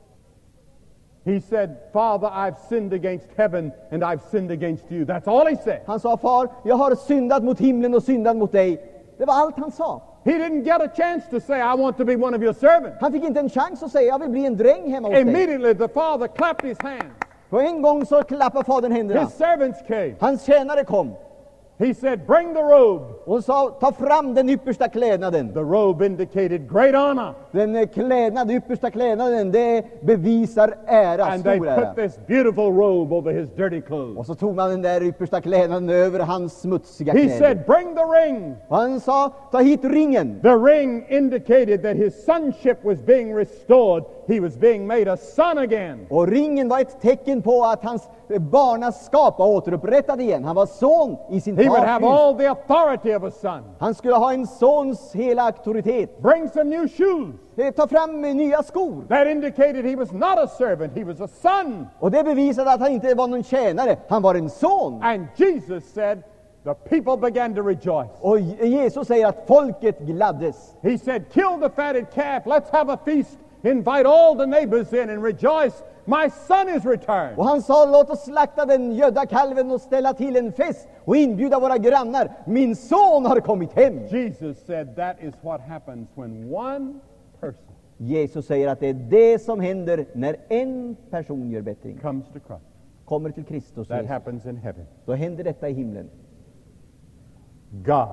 He said, Father, I've sinned against heaven and I've sinned against you. That's all he said. Han sa: far, jag har syndat mot himlen och syndat mot dig. Det var allt han sa. He didn't get a chance to say, I want to be one of your servants. Han fick inte en chans att säga: jag vill bli en dräng hemma hos dig. Immediately the father clapped his hands. På en gång så klappade fadern händerna. His servants came. Hans tjänare kom He said, bring the robe. och sa: ta fram den yppersta klädnaden. The robe indicated great honor. Den eh, klädnad, yppersta klädnaden, det bevisar ära, And they stor ära. put this beautiful robe over his dirty clothes. Och så tog man den där yppersta klädnaden över hans smutsiga He kläder. said, bring the ring. Och han sa: ta hit ringen. The ring indicated that his sonship was being restored. He was being made a son again. Och ringen var ett tecken på att hans eh, barnaskap var återupprättad igen. Han var son i sin He would have fars hus. all the authority of a son. Han skulle ha en sons hela auktoritet. Bring some new shoes. Eh, Ta fram eh, nya skor. That indicated he was not a servant, he was a son. Och det bevisade att han inte var någon tjänare. Han var en son. And Jesus said, the people began to rejoice. Och Jesus säger att folket gladdes. He said, kill the fatted calf, let's have a feast, invite all the neighbors in and rejoice. My son is returned. Och han sa: låt oss slakta den gödda kalven och ställa till en fest och inbjuda våra grannar. Min son har kommit hem. Jesus said that is what happens when one person Jesus säger att det är det som händer när en person gör bättring. comes to Christ. Kommer till Kristus That Jesus. happens in heaven. Då händer detta i himlen. God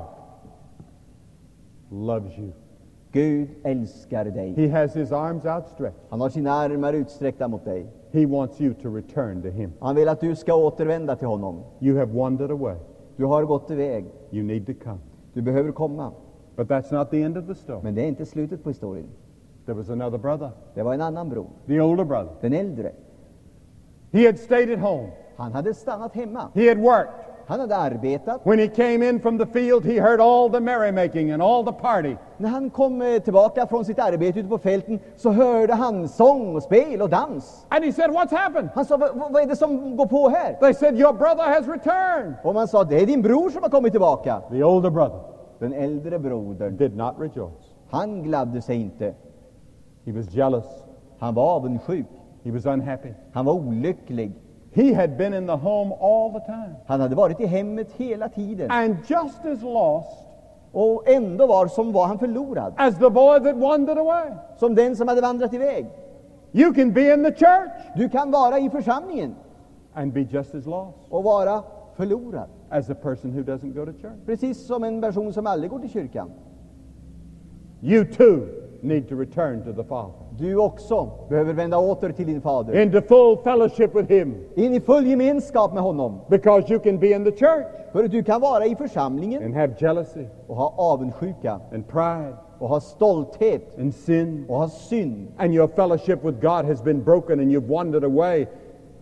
loves you. Gud älskar dig. He has his arms outstretched. Han har sina armar utsträckta mot dig. He wants you to return to him. Han vill att du ska återvända till honom. You have wandered away. Du har gått iväg. You need to come. Du behöver komma. But that's not the end of the story. Men det är inte slutet på historien. There was another brother, Det var en annan bror, the older brother. den äldre. He had stayed at home. Han hade stannat hemma. He had worked. Han hade arbetat. When he came in from the field, he heard all the merrymaking and all the party. När han kom eh, tillbaka från sitt arbete ute på fälten så hörde han sång och spel och dans. And he said, what's happened? Han sa: "Vad- vad är det som går på här?" They said, your brother has returned. Och man sa: det är din bror som har kommit tillbaka. The older brother Den äldre brodern, did not rejoice. han gladde sig inte. He was jealous. Han var avundsjuk. He was unhappy. Han var olycklig. He had been in the home all the time. Han hade varit i hemmet hela tiden. And just as lost Och ändå var som var han förlorad. as the boy that wandered away. Som den som hade vandrat iväg. You can be in the church Du kan vara i församlingen and be just as lost och vara förlorad. as a person who doesn't go to church. Precis som en person som aldrig går till kyrkan. You too need to return to the Father. Du också behöver vända åter till din fader. Into full fellowship with Him. In i full gemenskap med honom. Because you can be in the church För du kan vara i församlingen and have jealousy och ha avundsjuka and pride och ha stolthet and sin. och ha synd. And your fellowship with God has been broken and you've wandered away.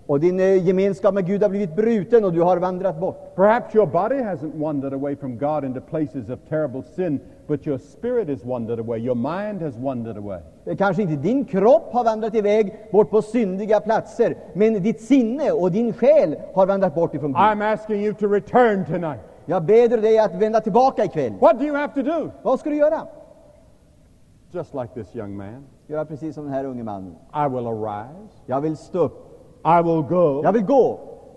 Och din eh, gemenskap med Gud har blivit bruten och du har vandrat bort. Perhaps your body hasn't wandered away from God into places of terrible sin, but your spirit has wandered away. Your mind has wandered away. Kanske inte din kropp har vandrat iväg bort på syndiga platser, men ditt sinne och din själ har vandrat bort ifrån Gud. I'm asking you to return tonight. Jag ber dig att vända tillbaka ikväll. What do you have to do? Vad ska du göra? Just like this young man. Göra precis som den här unge mannen. I will arise. Jag vill stå upp. I will go. Jag vill gå.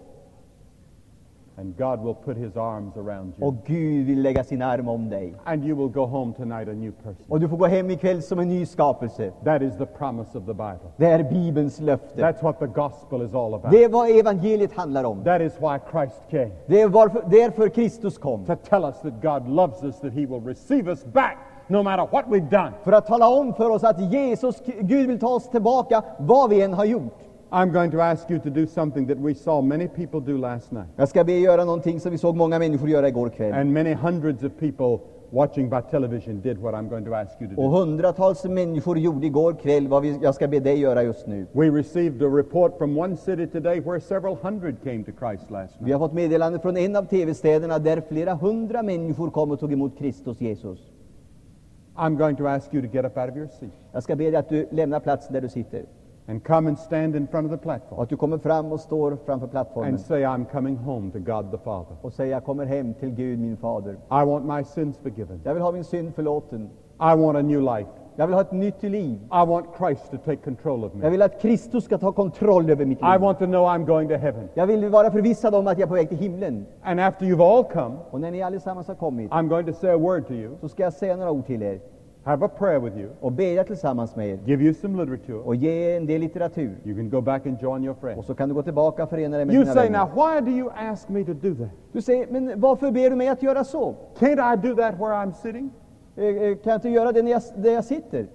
And God will put his arms around you. Och Gud vill lägga sin arm om dig. And you will go home tonight a new person. Och du får gå hem ikväll som en ny skapelse. That is the promise of the Bible. Det är Bibelns löfte. That's what the gospel is all about. Det är vad evangeliet handlar om. That is why Christ came. Det är varför, därför Kristus kom. To tell us that God loves us, that he will receive us back no matter what we've done. För att tala om för oss att Jesus, Gud vill ta oss tillbaka vad vi än har gjort. I'm going to ask you to do something that we saw many people do last night. Jag ska be göra någonting som vi såg många människor göra igår kväll. And many hundreds of people watching by television did what I'm going to ask you to Och do. hundratals människor gjorde igår kväll vad vi, jag ska be dig göra just nu. We received a report from one city today where several hundred came to Christ last Vi night. har fått meddelande från en av tv-städerna där flera hundra människor kom och tog emot Kristus Jesus. I'm going to ask you to get up out of your seat Jag ska be dig att du lämnar platsen där du sitter. and come and stand in front of the Och platform att du kommer fram och står framför plattformen. and say, I'm coming home to God the Father. Och säger, jag kommer hem till Gud min fader. I want my sins forgiven. Jag vill ha min synd förlåten. I want a new life. Jag vill ha ett nytt liv. I want Christ to take control of Jag me. vill att Kristus ska ta kontroll över mitt I liv. want to know I'm going to heaven. Jag vill vara förvissad om att jag är på väg till himlen. And after you've all come, Och när ni allesammans har kommit I'm going to say a word to you, så ska jag säga några ord till er. have a prayer with you, Och bedja tillsammans med er. give you some literature. Och ge en del litteratur. You can go back and join your friends. Och så kan du gå tillbaka och förena dig med You dina say, now, vänner. why do you ask me to do that? Du säger, men varför ber du mig att göra så? Can't I do that where I'm sitting? Eh, eh, Kan jag inte göra det när jag, där jag sitter?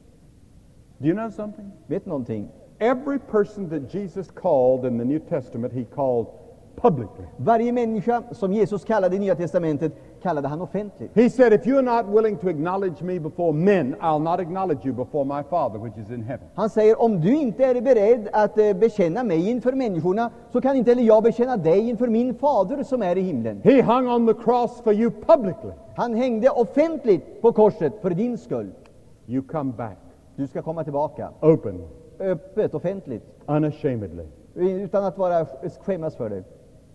Do you know something? Vet någonting? Every person that Jesus called in the New Testament, he called publicly. Varje människa som Jesus kallade i Nya Testamentet kallade han offentligt. He said, if you're not willing to acknowledge me before men, I'll not acknowledge you before my Father which is in heaven. Han säger, om du inte är beredd att eh, bekänna mig inför människorna, så kan inte heller jag bekänna dig inför min fader som är i himlen. He hung on the cross for you publicly. Han hängde offentligt på korset för din skull. You come back Du ska komma tillbaka. openly, Öppet, offentligt. unashamedly, Utan att vara skämmas för det.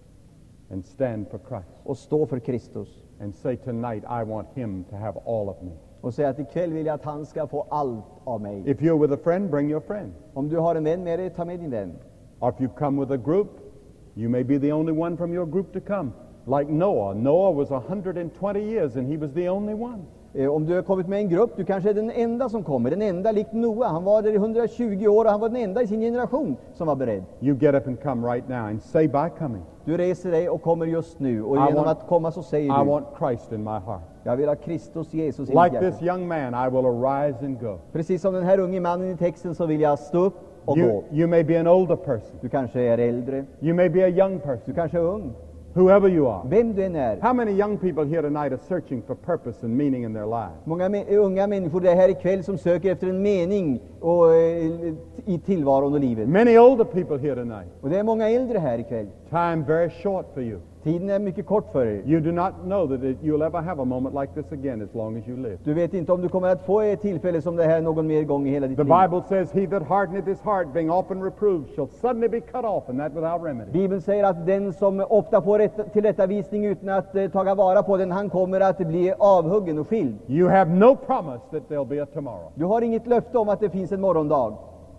and stand for Christ. Och stå för Kristus. And say, tonight I want him to have all of me. Och säga att ikväll vill jag att han ska få allt av mig. If you're with a friend, bring your friend. Om du har en vän med dig, ta med din vän. Or if you come with a group, you may be the only one from your group to come. Like Noah. Noah was one hundred twenty years and he was the only one. Eh, om du har kommit med en grupp, du kanske är den enda som kommer. Den enda likt Noa. Han var där i hundratjugo år och han var den enda i sin generation som var beredd. You get up and come right now and say by coming, Du reser dig och kommer just nu. Och I genom want- att komma så säger I du, want Christ in my heart. jag vill ha Kristus Jesus i mitt Like hjärta. this young man, I will arise and go. Precis som den här unge mannen i texten så vill jag stå upp och You, gå. you may be an older person. Du kanske är äldre. You may be a young Du person. kanske är ung. Whoever you are. Vem du än är. How many young people here tonight are searching for purpose and meaning in their lives? Många me- unga människor det är här ikväll som söker efter en mening och, eh, i tillvaron och livet. Many older people here tonight. Och det är många äldre här ikväll. Time very short for you. Tiden är mycket kort för er. You do not know that it, you'll ever have a moment like this again as long as you live. Du vet inte om du kommer att få ett tillfälle som det här någon mer gång i hela ditt The liv. Bible says, he that hardeneth his heart, being often reproved, shall suddenly be cut off, and that without remedy. Bibeln säger att den som ofta får rätt, tillrättavisning utan att eh, taga vara på den, han kommer att bli avhuggen och skild. You have no promise that there'll be a tomorrow. Du har inget löfte om att det finns en morgondag.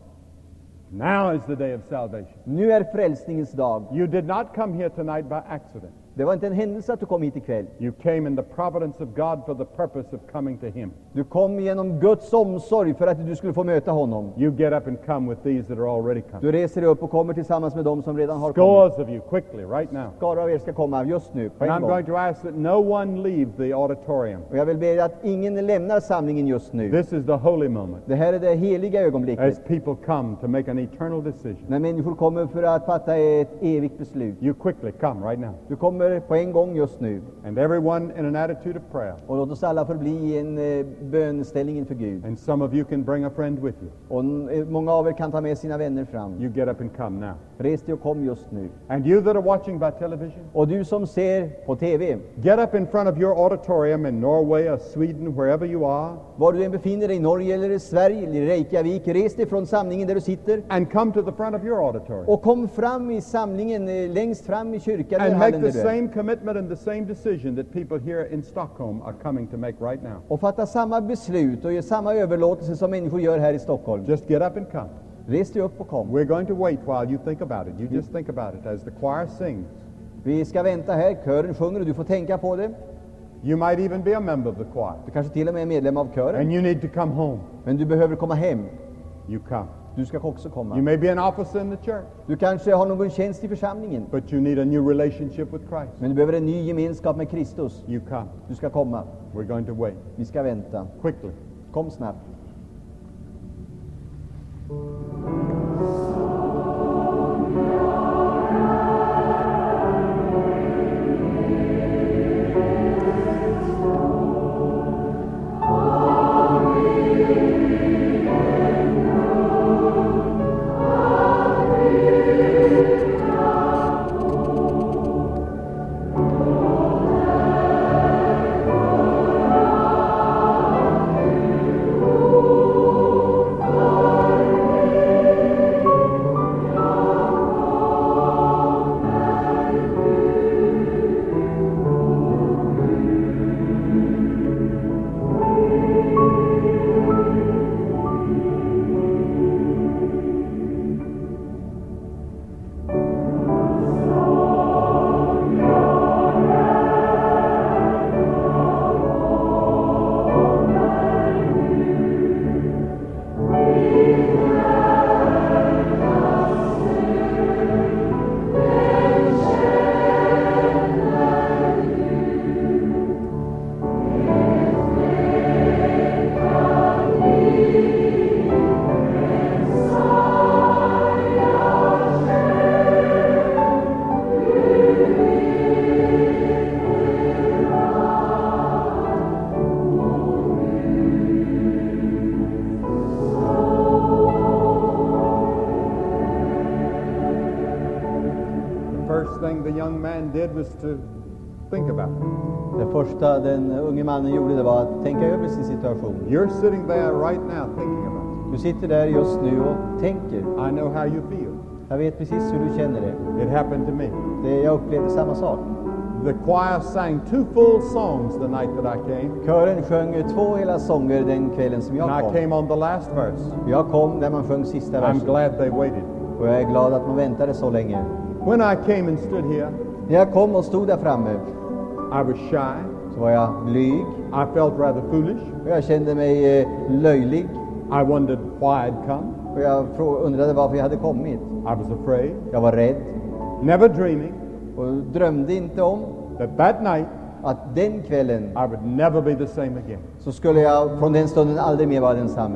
Now is the day of salvation. Nu är frälsningens dag. You did not come here tonight by accident. Det var inte en händelse att du kom hit ikväll. You came in the providence of God for the purpose of coming to him. Du kom genom Guds omsorg för att du skulle få möta honom. You get up and come with these that are already come. Du reser dig upp och kommer tillsammans med dem som redan har kommit. Scores of you, quickly, right now. Skaror av er ska komma just nu, på And en I'm gång. going to ask that no one leave the auditorium. Och jag vill be att ingen lämnar samlingen just nu. This is the holy moment Det här är det heliga as ögonblicket. people come to make an eternal decision. När människor kommer för att fatta ett evigt beslut. You quickly come right now. Du kommer kommer på en gång just nu. And everyone in an attitude of prayer. Och låt oss alla förbli i en eh, bönställning inför Gud. And some of you can bring a friend with you. Och eh, många av er kan ta med sina vänner fram. You get up and come now. Res dig och kom just nu. And you that are watching by television, Och du som ser på T V, get up in front of your auditorium in Norway or Sweden, wherever you are, var du än befinner dig, i Norge eller i Sverige eller i Reykjavik, res dig från samlingen där du sitter and come to the front of your auditorium. och kom fram i samlingen, eh, längst fram i kyrkan eller And make hallen the där du är. same commitment and the same decision that people here in Stockholm are coming to make right now. Och fatta samma beslut och ge samma överlåtelse som människor gör här i Stockholm. Just get up and come. Res dig upp och kom. We're going to wait while you think about it. You just think about it as the choir sings. Vi ska vänta här, kören sjunger och du får tänka på det. You might even be a member of the choir. Du kanske till och med är medlem av kören. And you need to come home. Men du behöver komma hem. You come. Du ska också komma. You may be an officer in the church, Du kanske har någon tjänst i församlingen. but you need a new relationship with Christ. Men du behöver en ny gemenskap med Kristus. You come. Du ska komma. We're going to wait. Vi ska vänta. Quickly. Kom snabbt. The young man did was to think about it. Det första den unge mannen gjorde, det var att tänka över sin situation. You're sitting there right now thinking about it. Du sitter där just nu och tänker. I know how you feel. Jag vet precis hur du känner det. It happened to me. det jag upplevde samma sak. The choir sang two full songs the night that I came. Kören sjöng två hela sånger den kvällen som jag And kom. I came on the last verse. Jag kom där man sjöng sista I'm versen. glad they waited. Och jag är glad att man väntade så länge. When I came and stood here, När jag kom och stod där framme I was shy. så var jag blyg. I felt rather foolish. Och jag kände mig eh, löjlig. I wondered why I'd come. Och jag frå- undrade varför jag hade kommit. I was afraid, Jag var rädd never dreaming och drömde inte om that that night att den kvällen I would never be the same again. så skulle jag från den stunden aldrig mer vara densamme.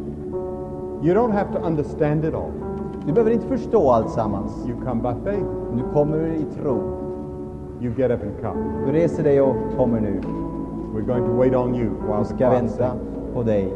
You don't have to understand it all. Du behöver inte förstå allt sammans. You come by faith. Du kommer i tro. You get up and come. Du reser dig och kommer nu. We're going to wait on you while Jag the ska choir vänta sings. på dig.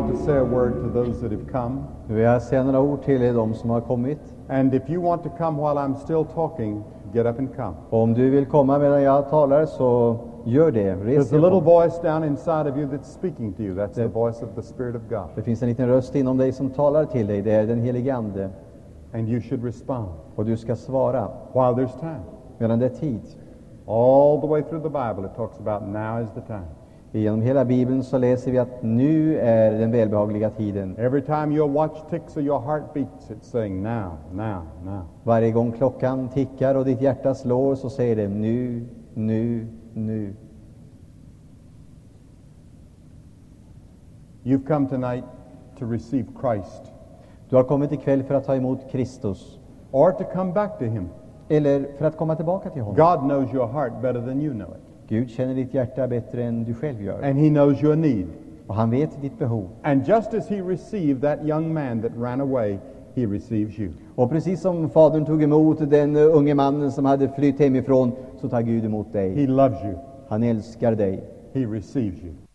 want to say a word to those that have come. Nu vill jag säga några ord till de som har kommit. And if you want to come while I'm still talking, get up and come. Och om du vill komma medan jag talar, så gör det. Res There's a dig little upp. voice down inside of you that's speaking to you. That's the voice of the Spirit of God. Det finns en liten röst inom dig som talar till dig. Det är den helige Ande. And you should respond Och du ska svara while there's time. medan det är tid. All the way through the Bible it talks about now is the time. Genom hela Bibeln så läser vi att nu är den välbehagliga tiden. Every time your watch ticks or your heart beats, it's saying now, now, now. Varje gång klockan tickar och ditt hjärta slår, så säger det nu, nu, nu. You've come tonight to receive Christ, Du har kommit ikväll för att ta emot Kristus, or to come back to Him. eller för att komma tillbaka till honom. God knows your heart better than you know it. Gud känner ditt hjärta bättre än du själv gör. And He knows your need. Och han vet ditt behov. And just as He received that young man that ran away, He receives you. Och precis som fadern tog emot den unge mannen som hade flytt hemifrån, så tar Gud emot dig. He loves you. Han älskar dig. He receives you.